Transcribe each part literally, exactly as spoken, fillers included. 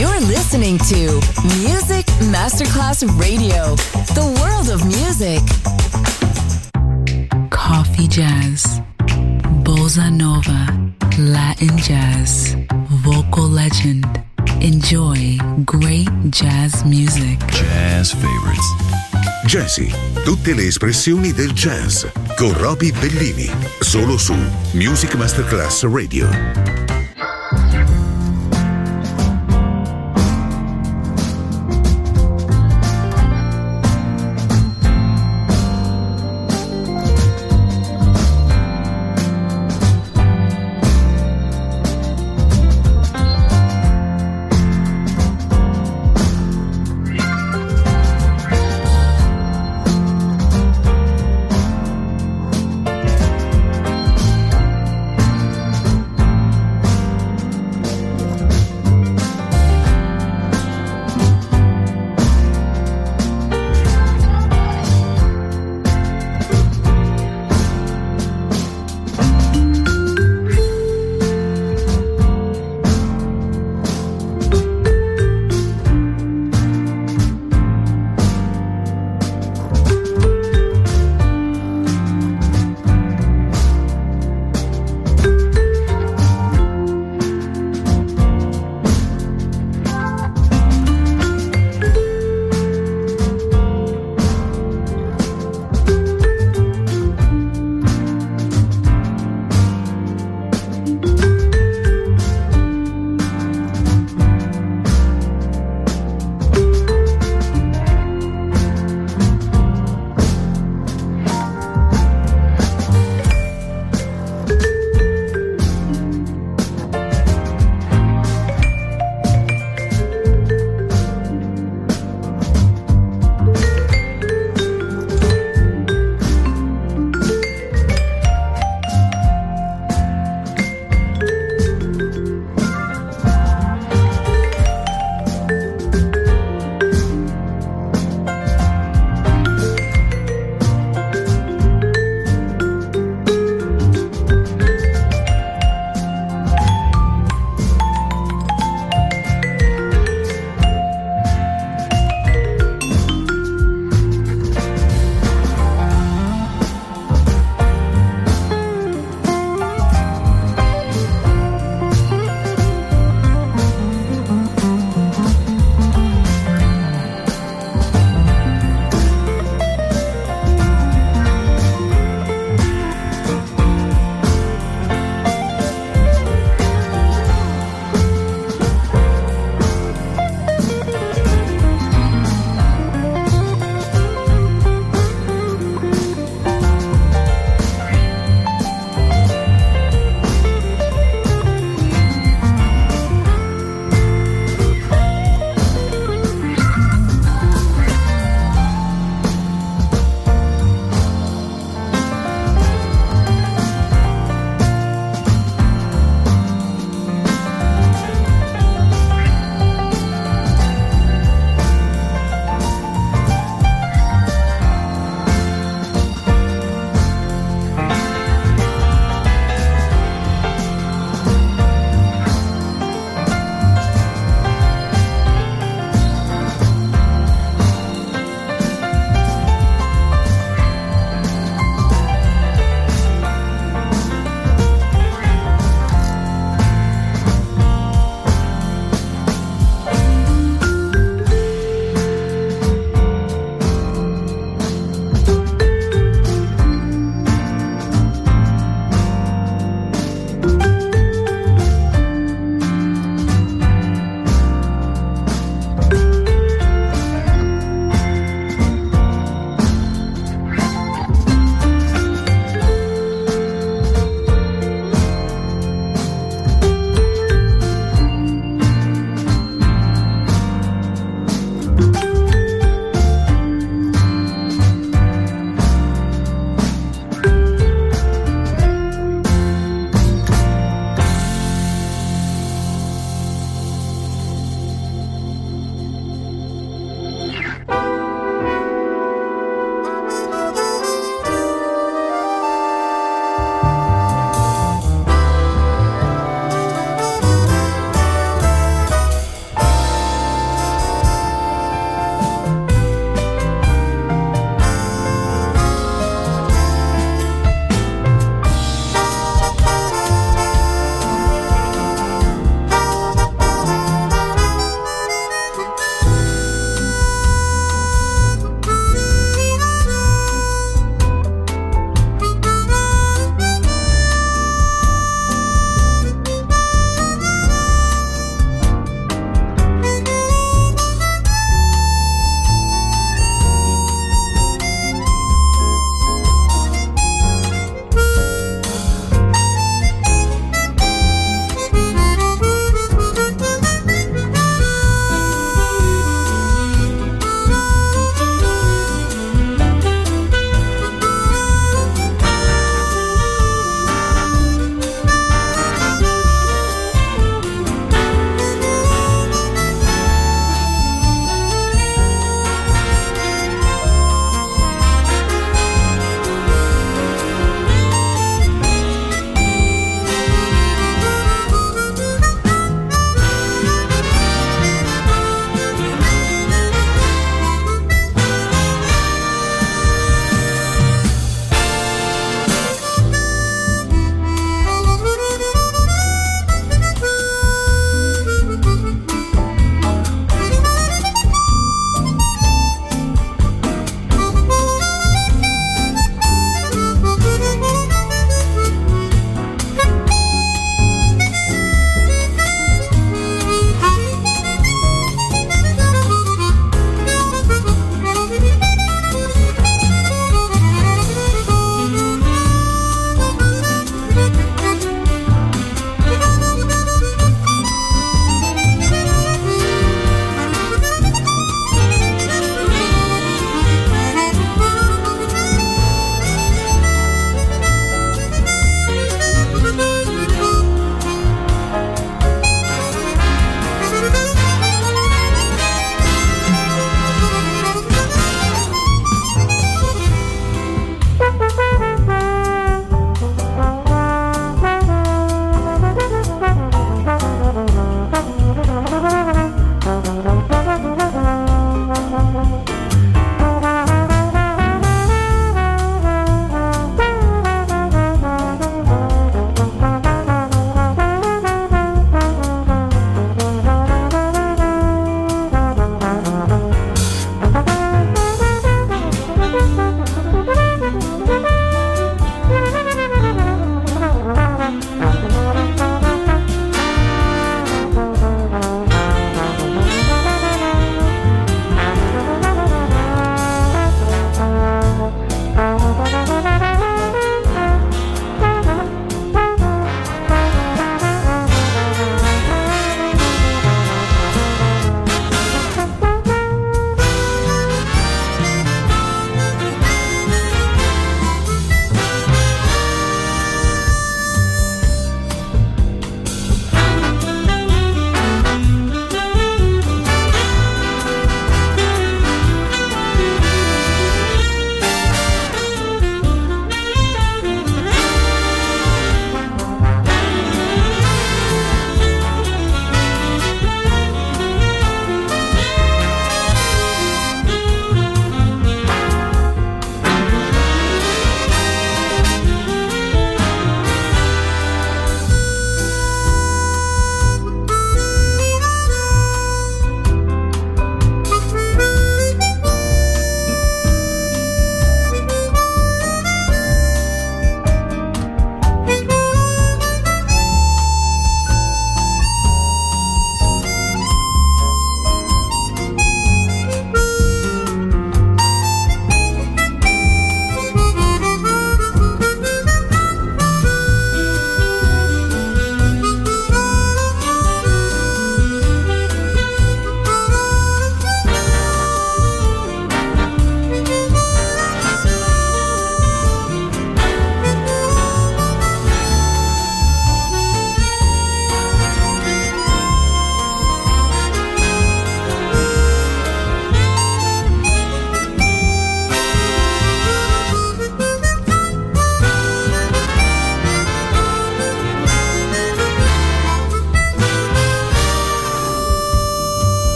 You're listening to Music Masterclass Radio, the world of music. Coffee jazz, bossa nova, Latin jazz, vocal legend. Enjoy great jazz music. Jazz favorites. Jazzy, tutte le espressioni del jazz con Roby Bellini, solo su Music Masterclass Radio.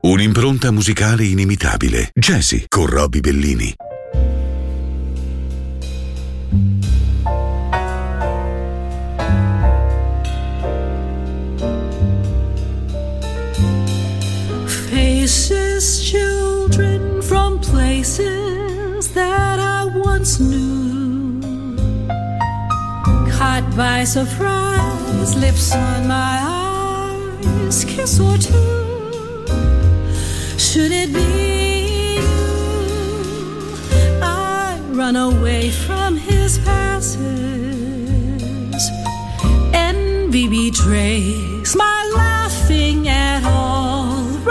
Un'impronta musicale inimitabile. Jazzy con Robbie Bellini. Faces, children from places that I once knew, caught by surprise, lips on my eyes, kiss or two. Should it be you? I run away from his passes. Envy betrays my laughing at all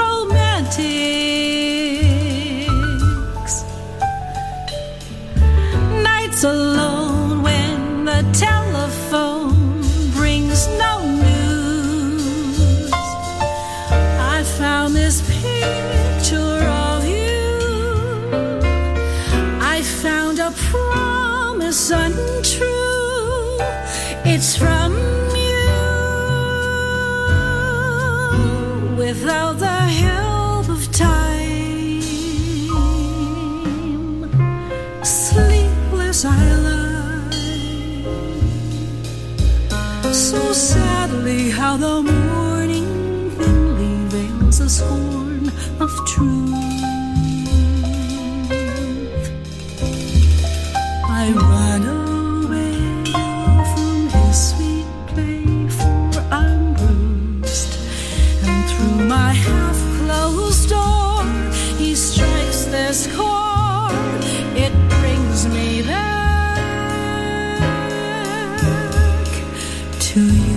romantics. Nights alone when the telephone brings no news. I found this picture of you. I found a promise untrue. It's from without the help of time. Sleepless I lie, so sadly how the morning thinly veils a scorn of truth. I run away from his sweet play, for I'm bruised. Through my half-closed door, he strikes this chord. It brings me back to you.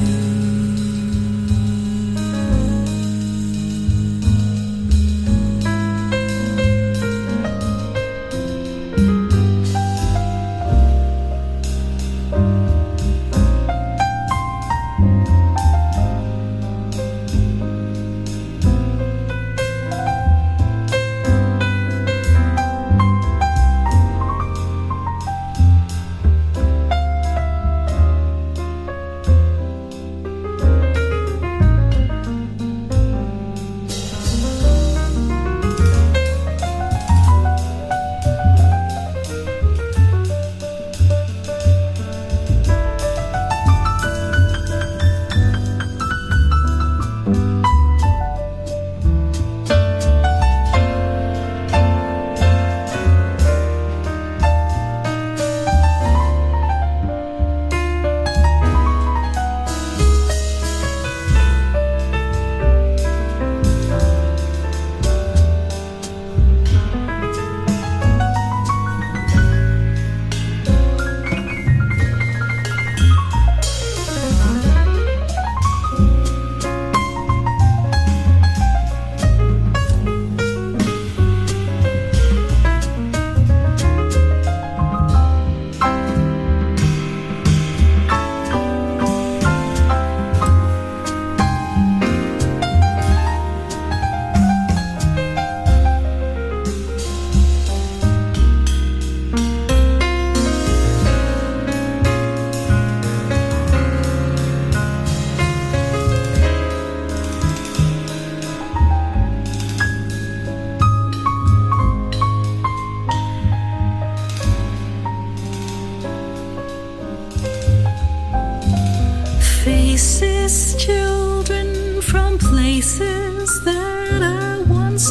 Faces, children from places that I once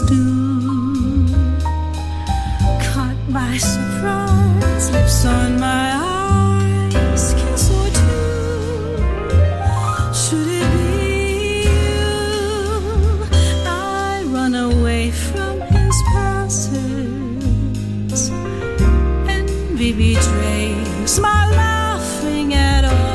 knew, caught by surprise, lips on my eyes, kiss or two. Should it be you? I run away from his passes. Envy betrays my laughing at all.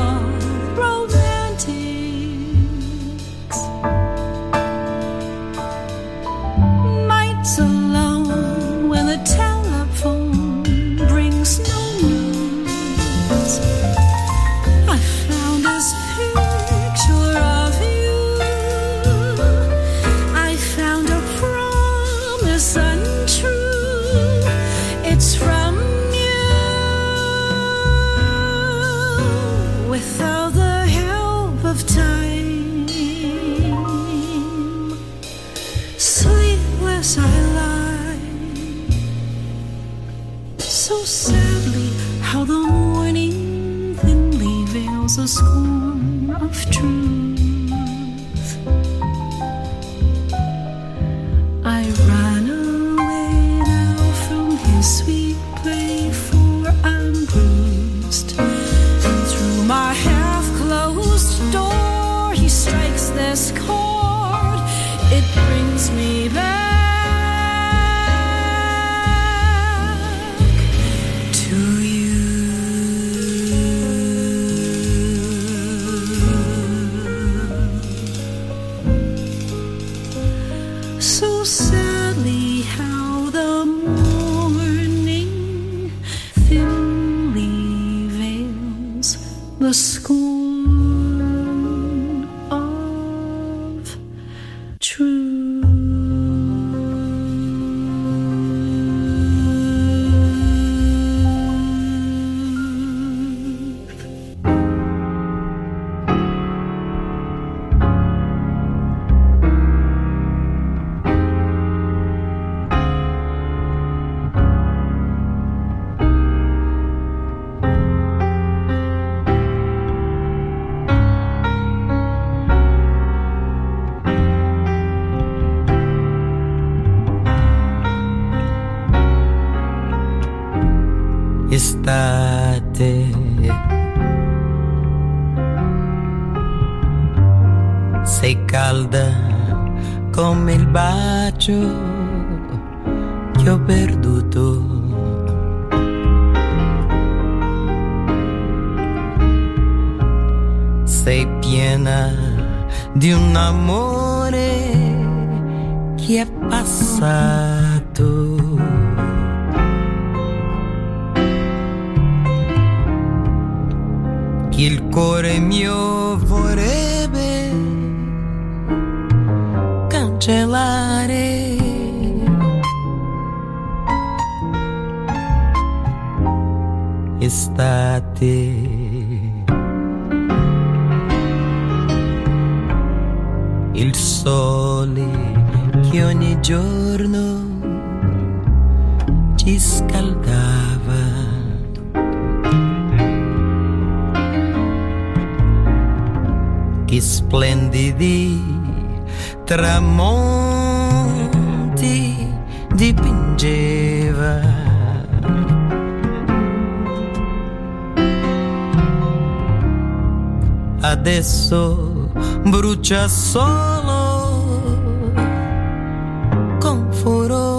Sweet veils the scorn of truth. I ran away now from his sweet play, for I'm bruised, and through my half-closed door he strikes this chord. It brings me back to you. So sadly how the morning thinly veils the scorn of truth. Estate, sei calda come il bacio che ho perduto. Sei piena di un amore che è passato. Il cuore mio vorrebbe cancellare. Estate, il sole che ogni giorno ci scaldava. Che splendidi tramonti dipingeva. Adesso brucia solo con furore.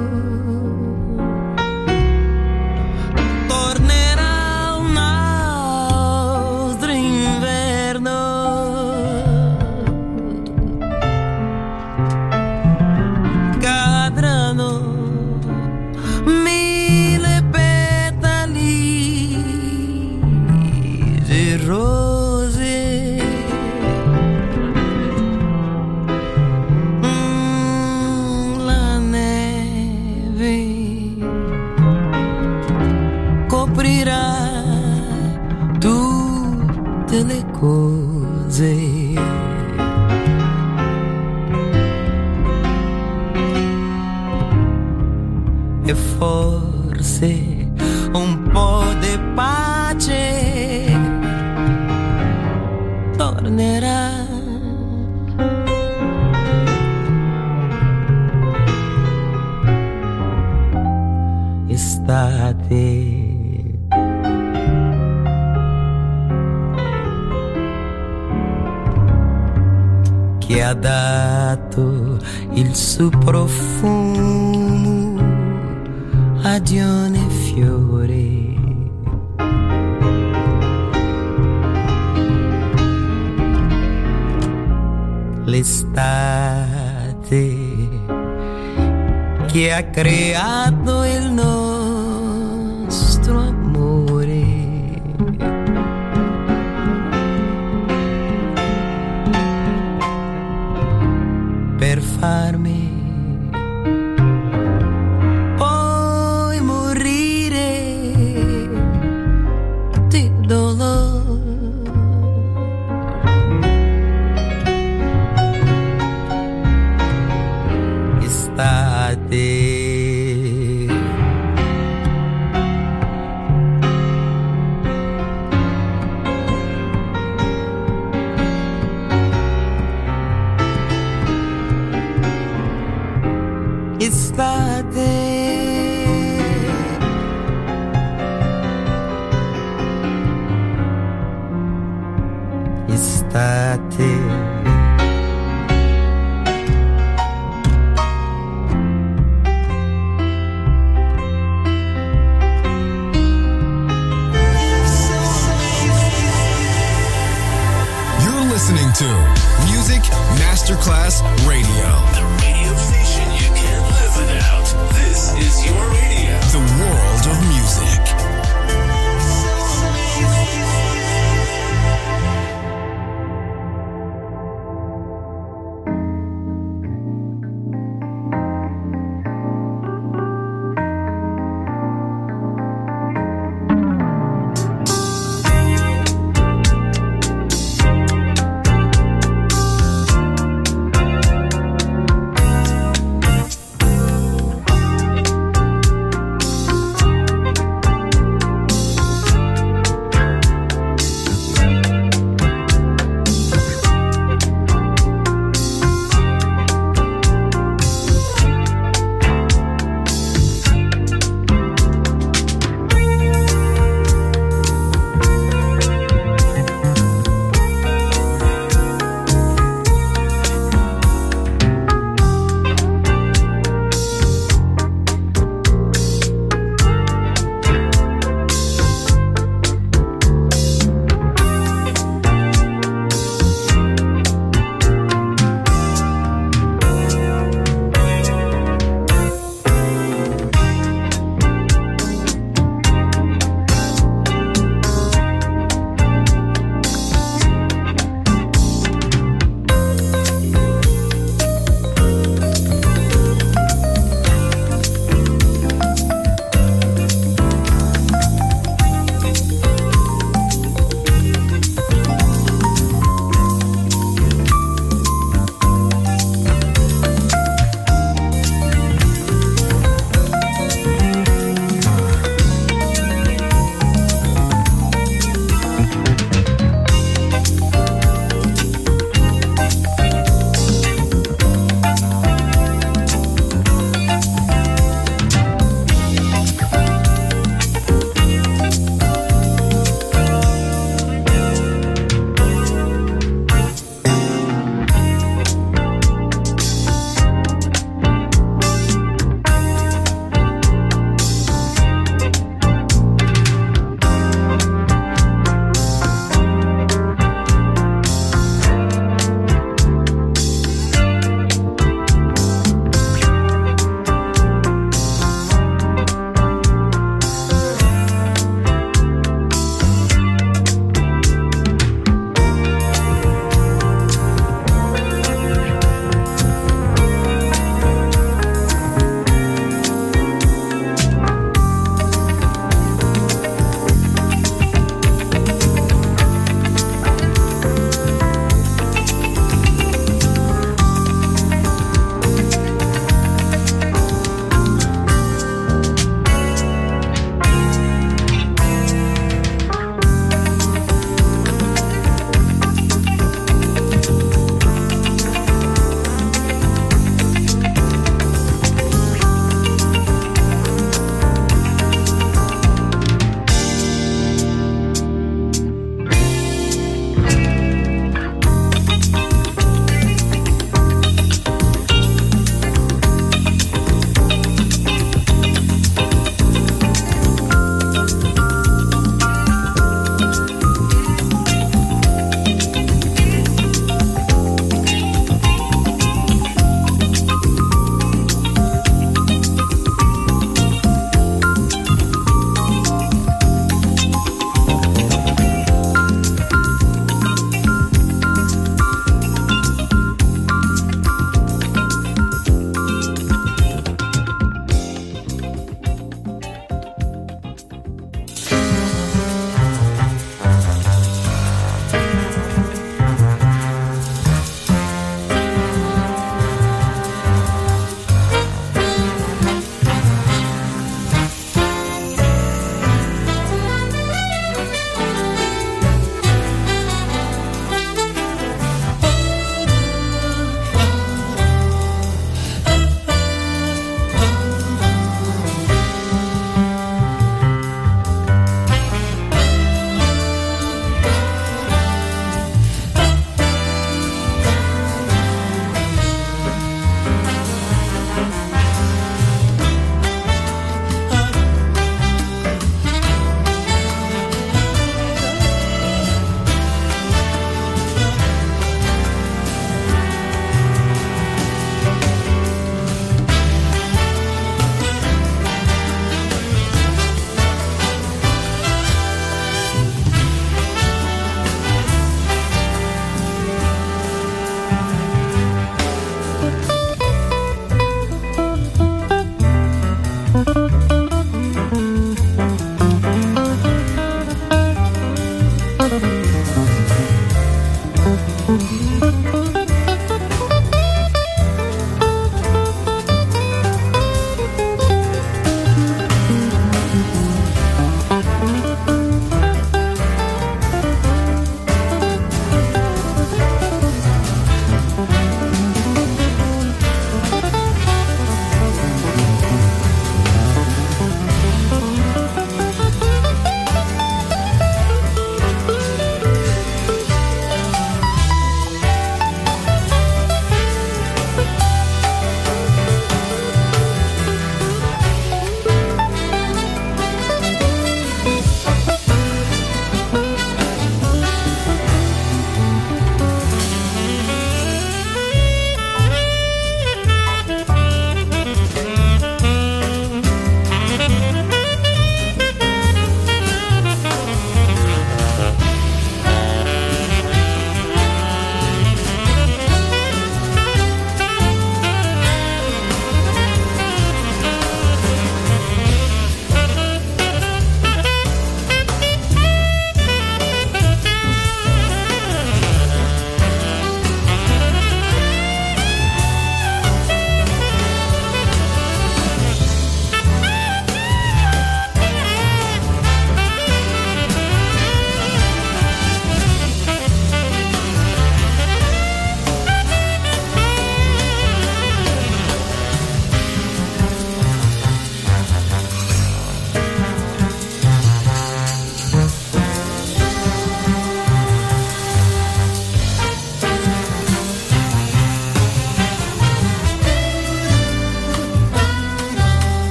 E forse un po' di pace tornerà. Estate, che ha dato il suo profumo a Dione fiore. L'estate che ha creato il nostro amore. Per farmi poi morire di dolore. Estate, estate. Listening to Music Masterclass Radio. The radio station you can't live without. This is your radio. The world of music.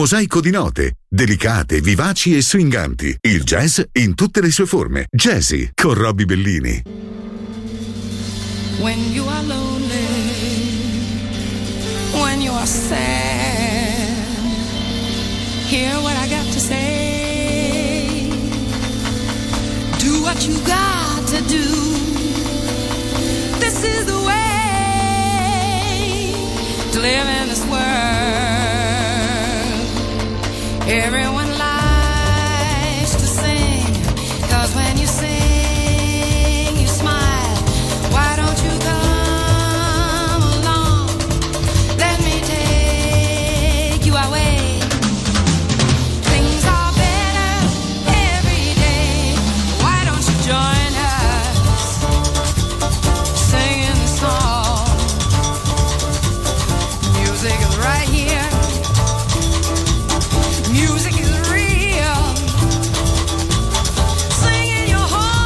mosaico di note, delicate, vivaci e swinganti. Il jazz in tutte le sue forme. Jazzy con Robbie Bellini. When you are lonely, when you are sad, hear what I got to say. Do what you got to do. This is the way to live in this world. Everyone likes to sing, 'cause when you sing, you smile. Why don't you come along? Let me take you away. Things are better every day. Why don't you join us, singing the song? Music is right here. Music is real. Singing your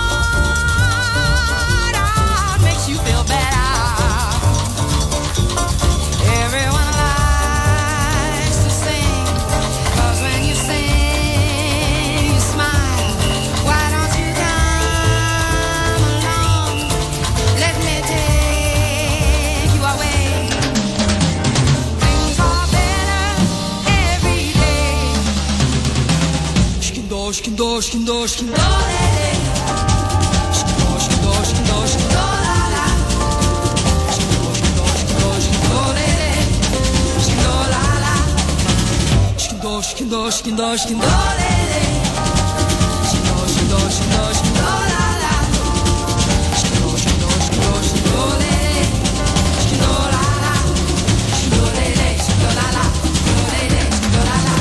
heart out makes you feel better. Everyone likes to sing, 'cause when you sing, you smile. Why don't you come along? Let me take you away. Things are better every day. Shkindo, shkindo, shkindo, shkindo, lele. Shkindo, shkindo, shkindo, shkindo, la la. Shkindo, shkindo, shkindo, shkindo, lele. Shkindo, la la. Shkindo, shkindo, shkindo, shkindo, lele. Shkindo, shkindo, shkindo, shkindo, la la. Shkindo, shkindo, shkindo, shkindo, lele. Shkindo, la la. Shkindo, lele, shkindo, la la. Shkindo, lele, shkindo, la la.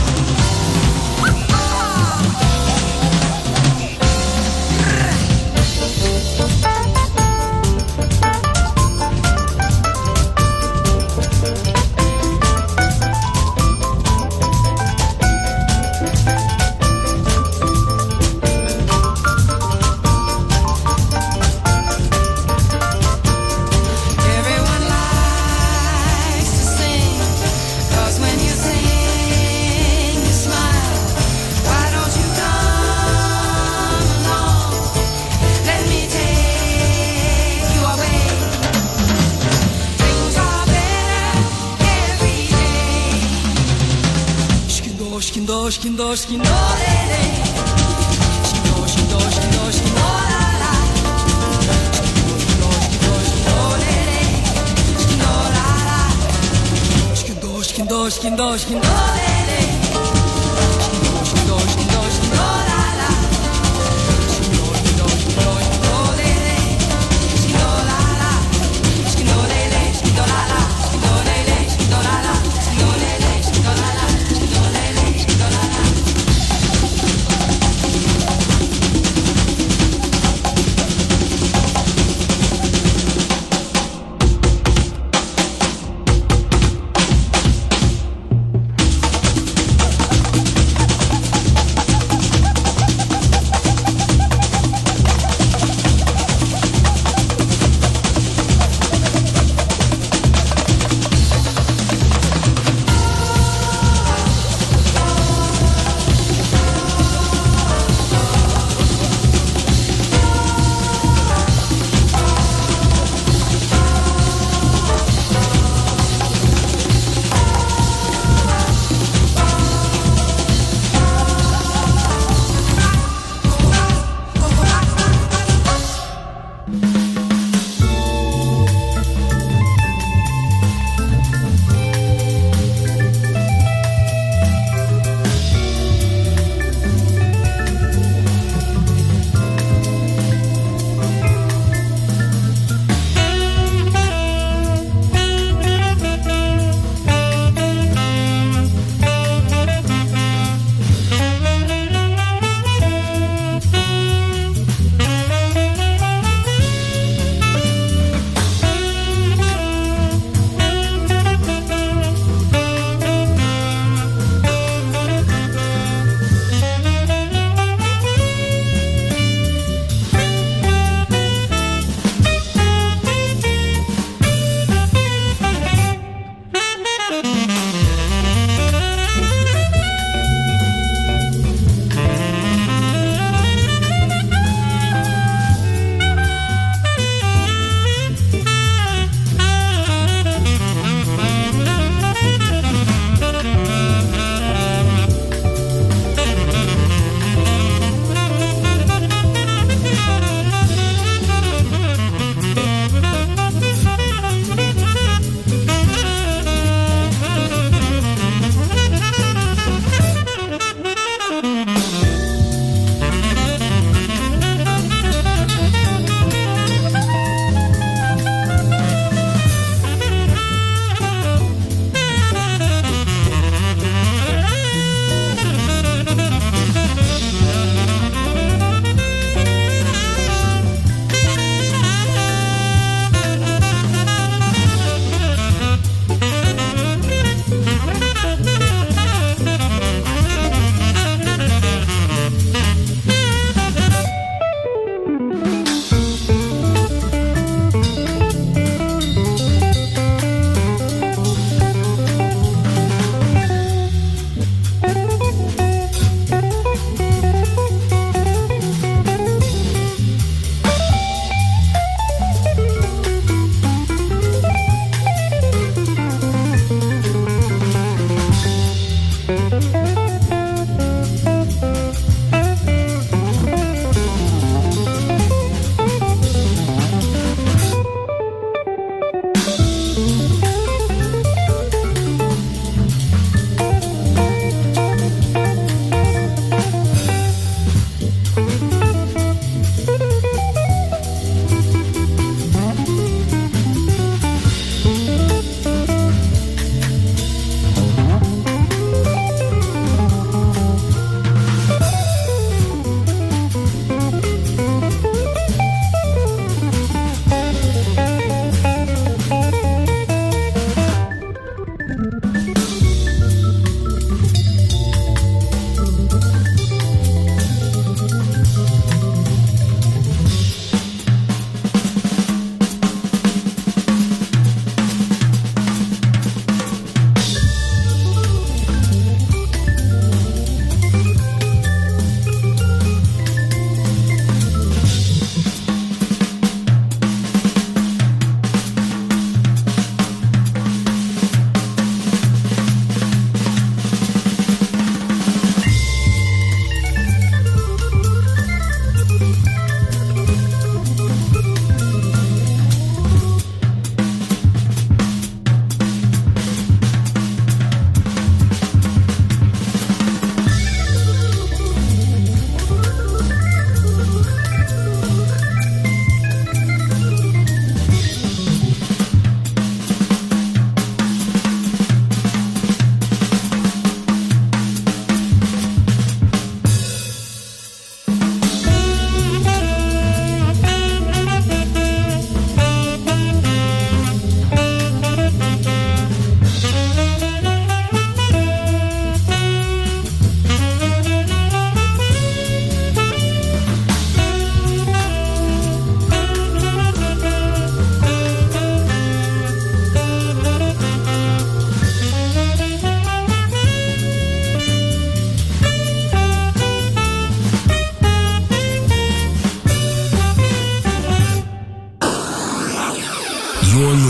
Everyone likes to sing, 'cause when you sing, you smile. Why don't you come along? Let me take you away. Things are better every day. Shkindo, shkindo, shkindo, shkindo, lele. Shkindo, shkindo, shkindo, shkindo, la la. Shkindo, shkindo, shkindo, lele. Shkindo, la la. Shkindo, shkindo, shkindo, shkindo, lele. Shkindo, shkindo, shkindo, shkindo, la la. Shkindo, shkindo, shkindo, shkindo, lele. Shkindo, la la. Shkindo, lele, shkindo, la la. Shkindo, lele, shkindo, la la. Shkindo, lele, shkindo, la la. Shkindo, lele, shkindo, la la.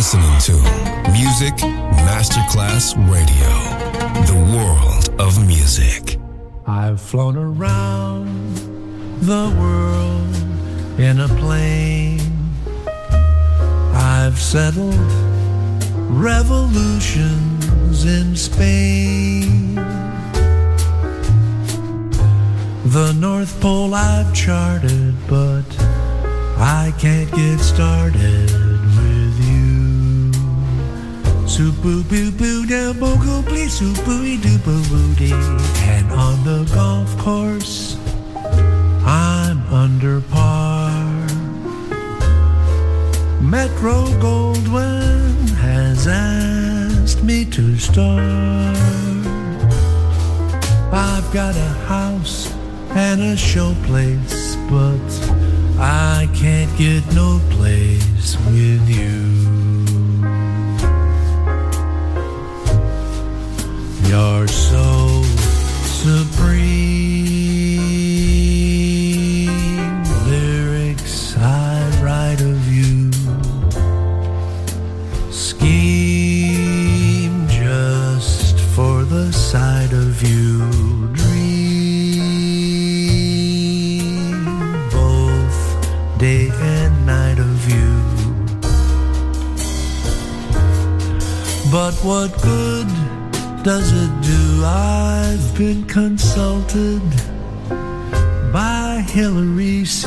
listening to Music Masterclass Radio, the world of music. I've flown around the world in a plane. I've settled revolutions in Spain. The North Pole I've charted, but I can't get started with you. Super boo boo da bogo please super doo boo boo dee. And on the golf course, I'm under par. Metro Goldwyn has asked me to start. I've got a house and a showplace, but I can't get no place with you. You're so supreme. Lyrics I write of you. Scheme just for the sight of you. Dream both day and night of you. But what good does it do? I've been consulted by Hillary C.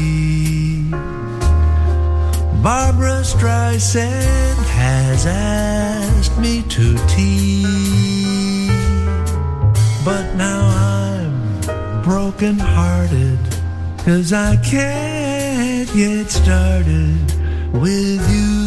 Barbra Streisand has asked me to tea. But now I'm broken hearted, 'cause I can't get started with you.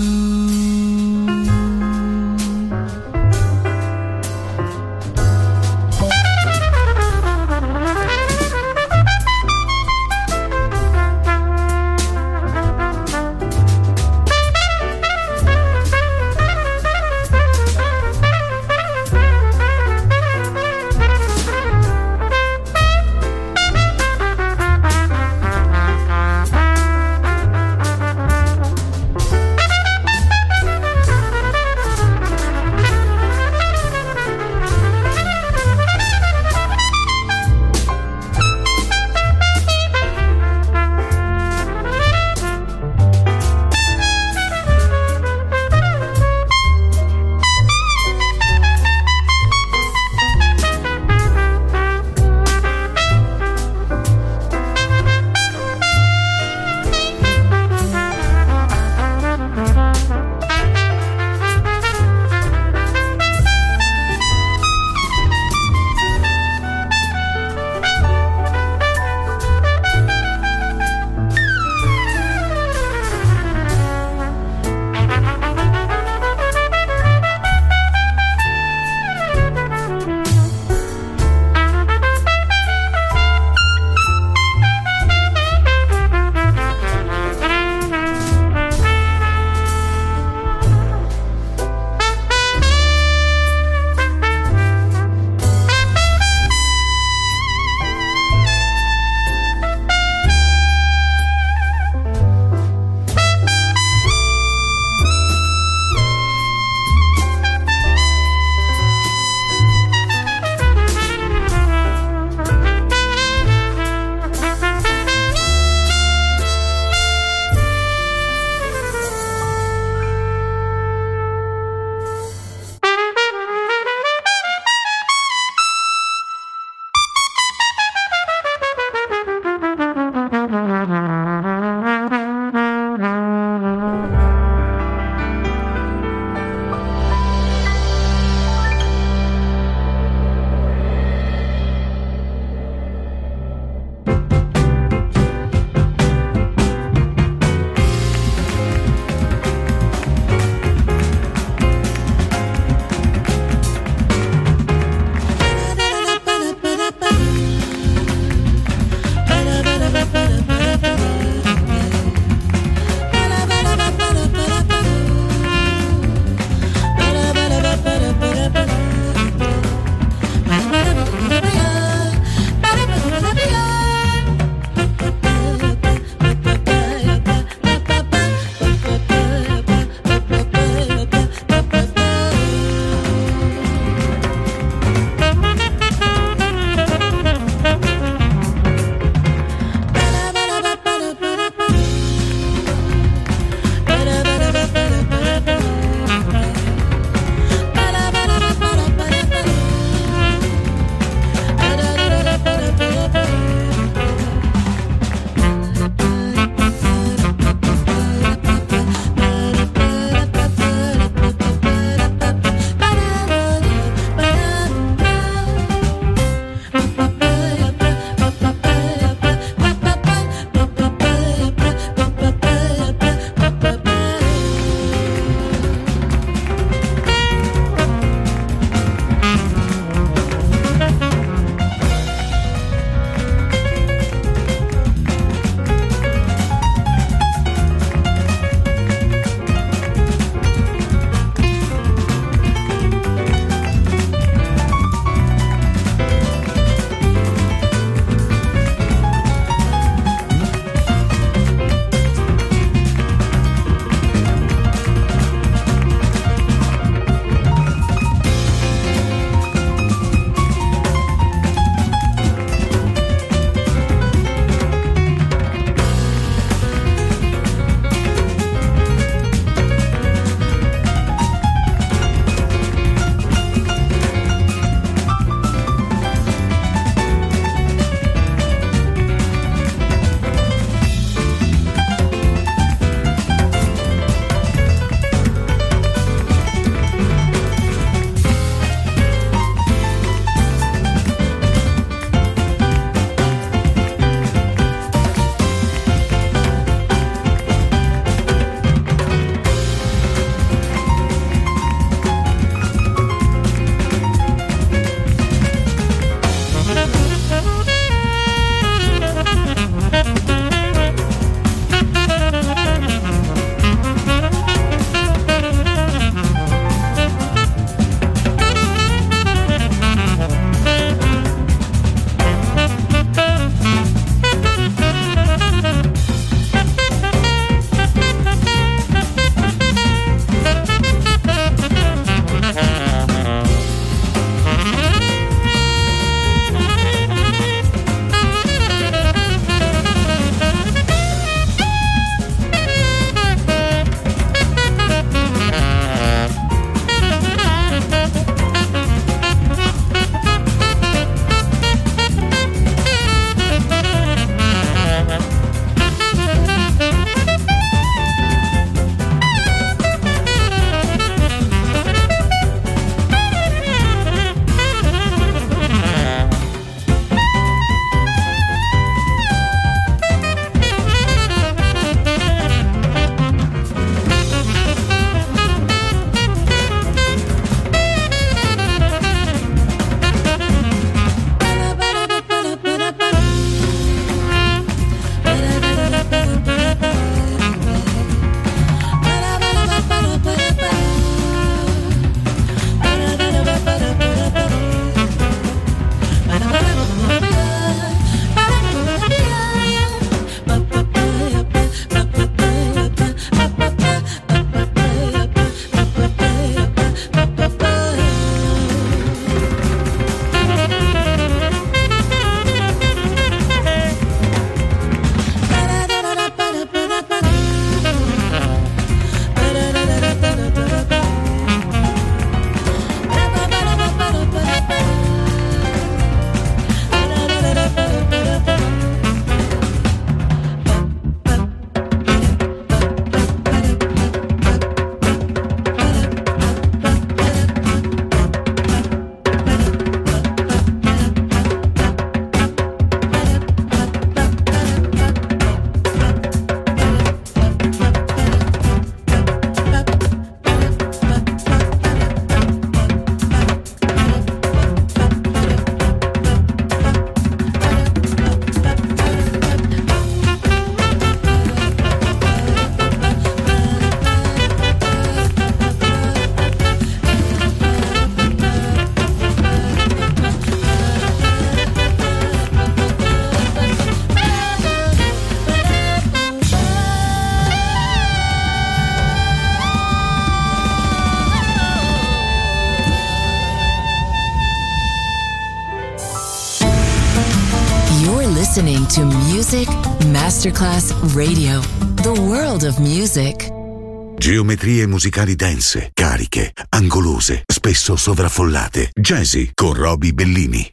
listening to Music Masterclass Radio, the world of music. Geometrie musicali dense, cariche, angolose, spesso sovraffollate. Jazzy con Roby Bellini.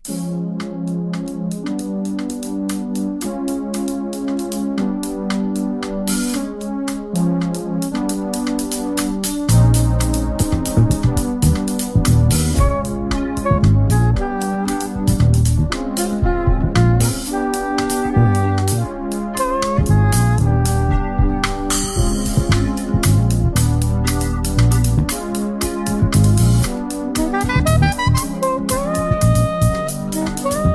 Thank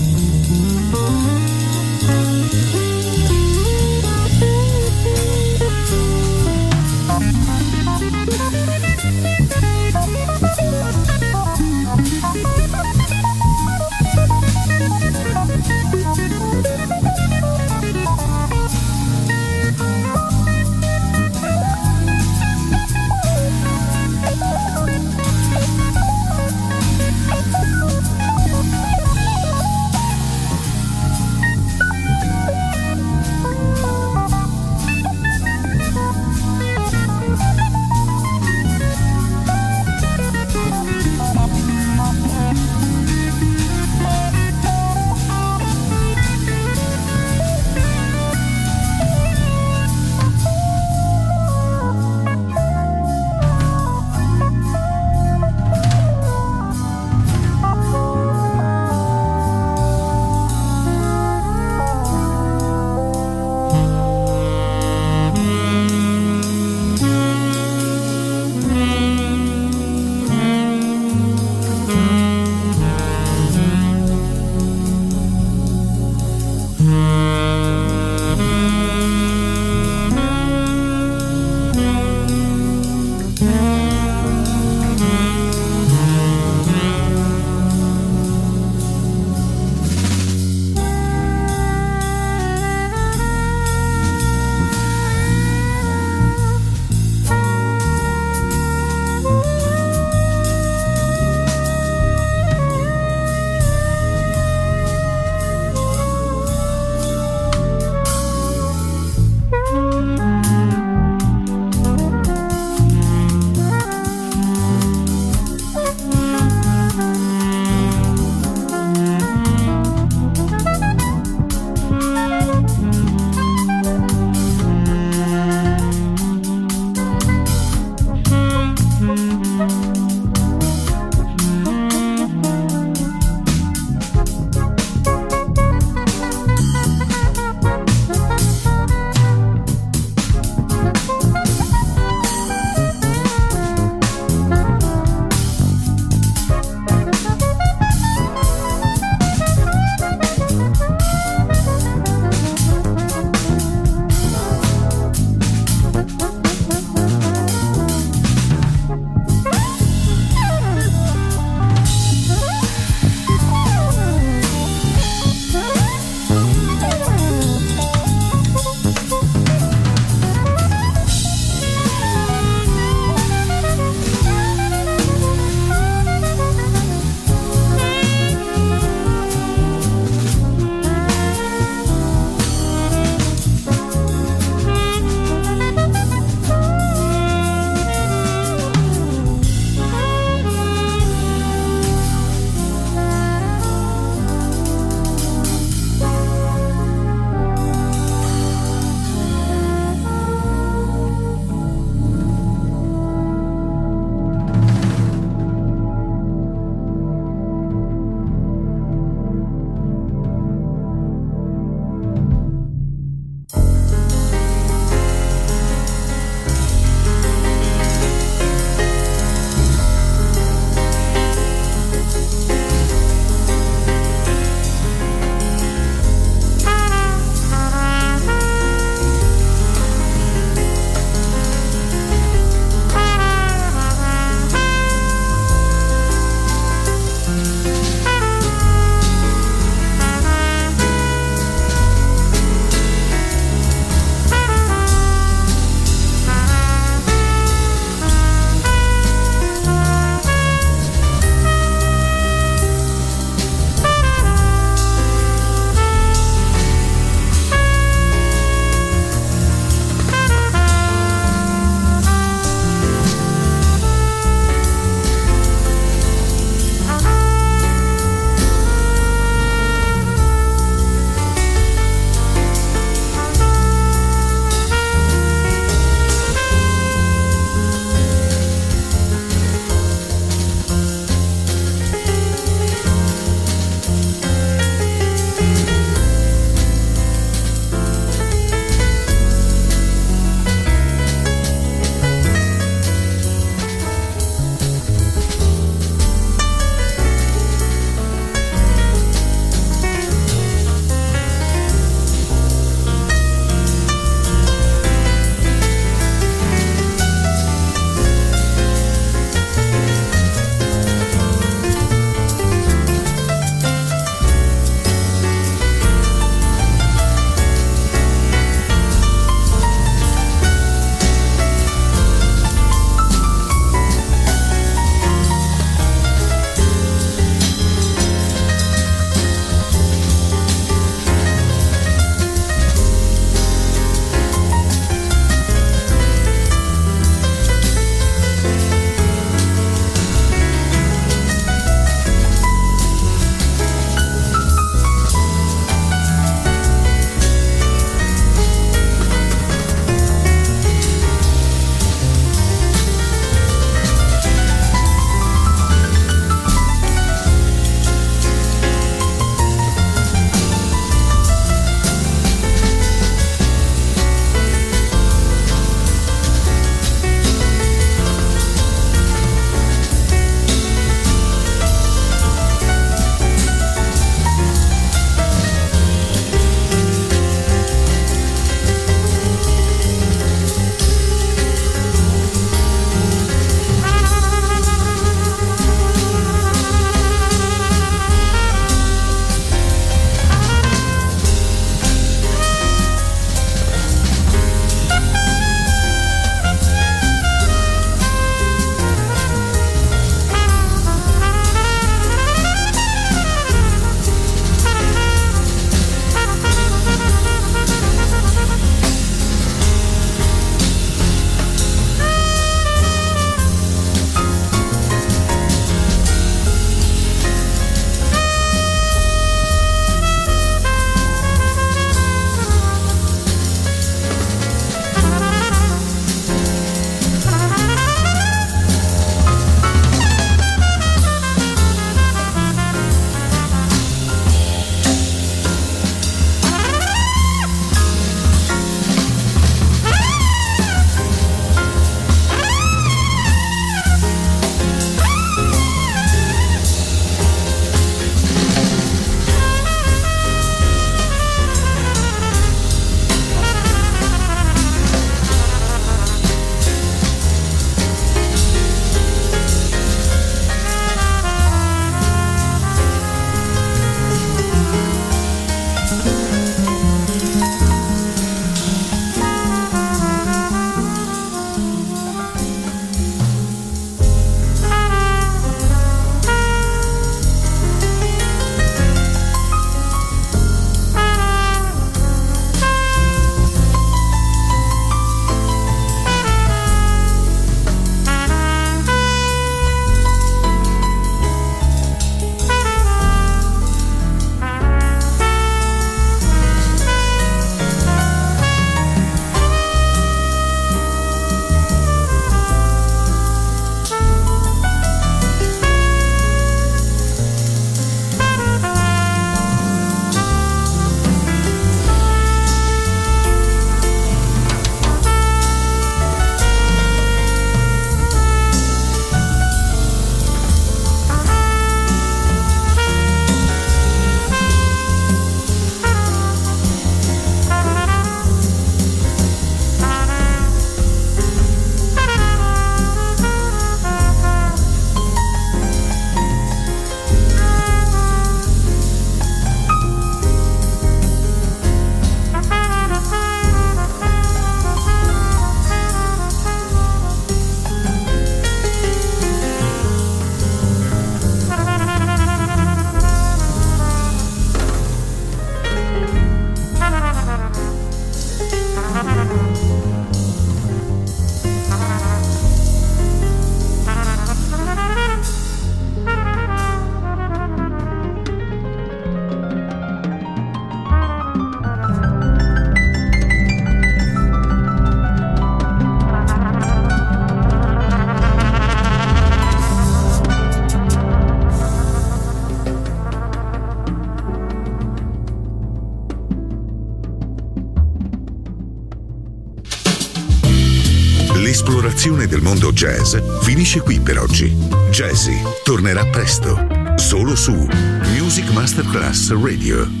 L'esplorazione del mondo jazz finisce qui per oggi. Jazzy tornerà presto, solo su Music Masterclass Radio.